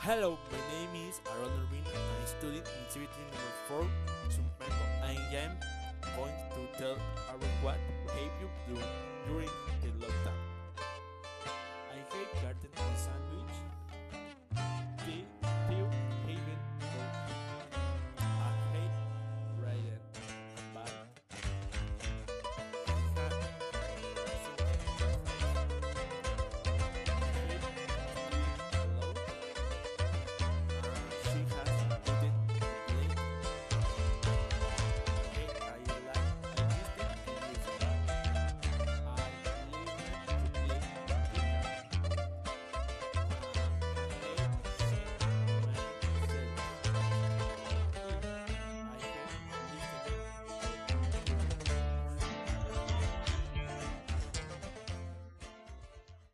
Hello, my name is Aaron Irvin and I study in CBT number 4, Sumpenco, and I am going to tell about what